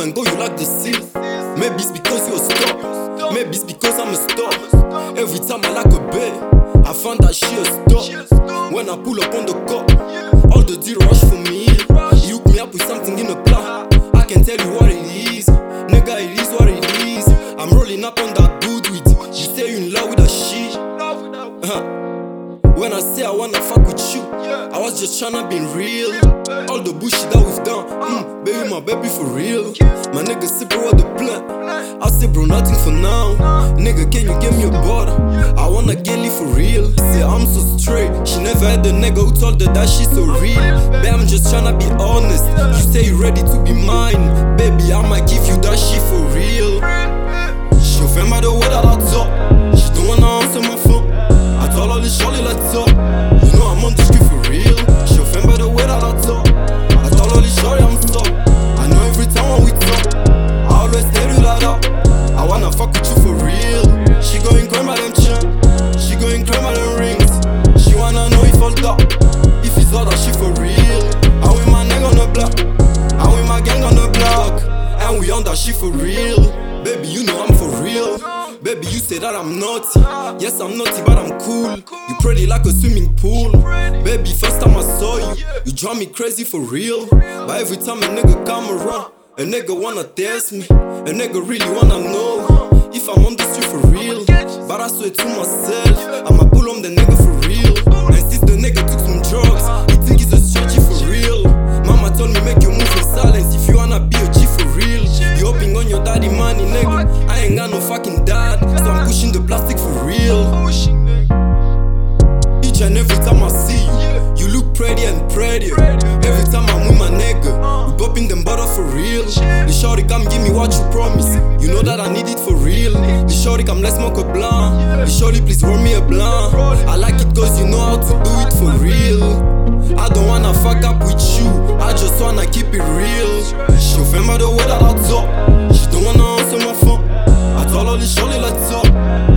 and go, you like the seal. Maybe it's because you're a star. Maybe it's because I'm a star. Every time I like a babe, I find that she a star. When I pull up on the car, all the deal rush for me. He hook me up with something in the plan. I can tell you what it is. Nigga, it is what it is. I'm rolling up on that good weed. You say you in love with that shit. When I say I wanna fuck with you, I was just tryna be real. All the bullshit that we've done, baby, my baby for real. My nigga say bro, what the plan? I say bro, nothing for now. Nigga, can you give me a bottle? I wanna get lit for real. Say I'm so straight. She never had a nigga who told her that she's so real. Babe, I'm just tryna be honest. You say you ready to be mine, baby, I might give you that shit for real. She offend by the way that I talk. She don't wanna answer my phone. I told her to surely let's talk. You know I'm on the street for real. She offend by the way that I talk. I told her to surely I'm stuck. I know every time when we talk, I always tell you that up. I wanna fuck with you for real. She going cry my them chain. She going cry my them rings. She wanna know if all that, if it's all that shit for real. I'm with my nigga on the block. I'm with my gang on the block. And we on that shit for real. Baby, you know I'm for real. Baby, you say that I'm naughty. Yes, I'm naughty, but I'm cool. You pretty like a swimming pool. Baby, first time I saw you, you drive me crazy for real. But every time a nigga come around, a nigga wanna test me. A nigga really wanna know if I'm on the street for real. But I swear to myself, I'ma pull on the nigga for real. And since the nigga took some drugs, he think he's a stretchy for real. Mama told me make you move in silence if you wanna be a G for real. You hoping on your daddy money, nigga. I ain't got no fucking dad, so I'm pushing the plastic for real. Each and every time I see you, you look prettier and prettier. Every time I'm with my nigga, we popping them bottles for real. The shorty come give me what you promise. You know that I need it for real. The shorty come let's smoke a blunt. The shorty please roll me a blunt. I like it cause you know how to do it for real. I don't wanna fuck up with you, I just wanna keep it real. She offend by the way that I talk. She don't wanna answer my phone. I told her to surely let's talk.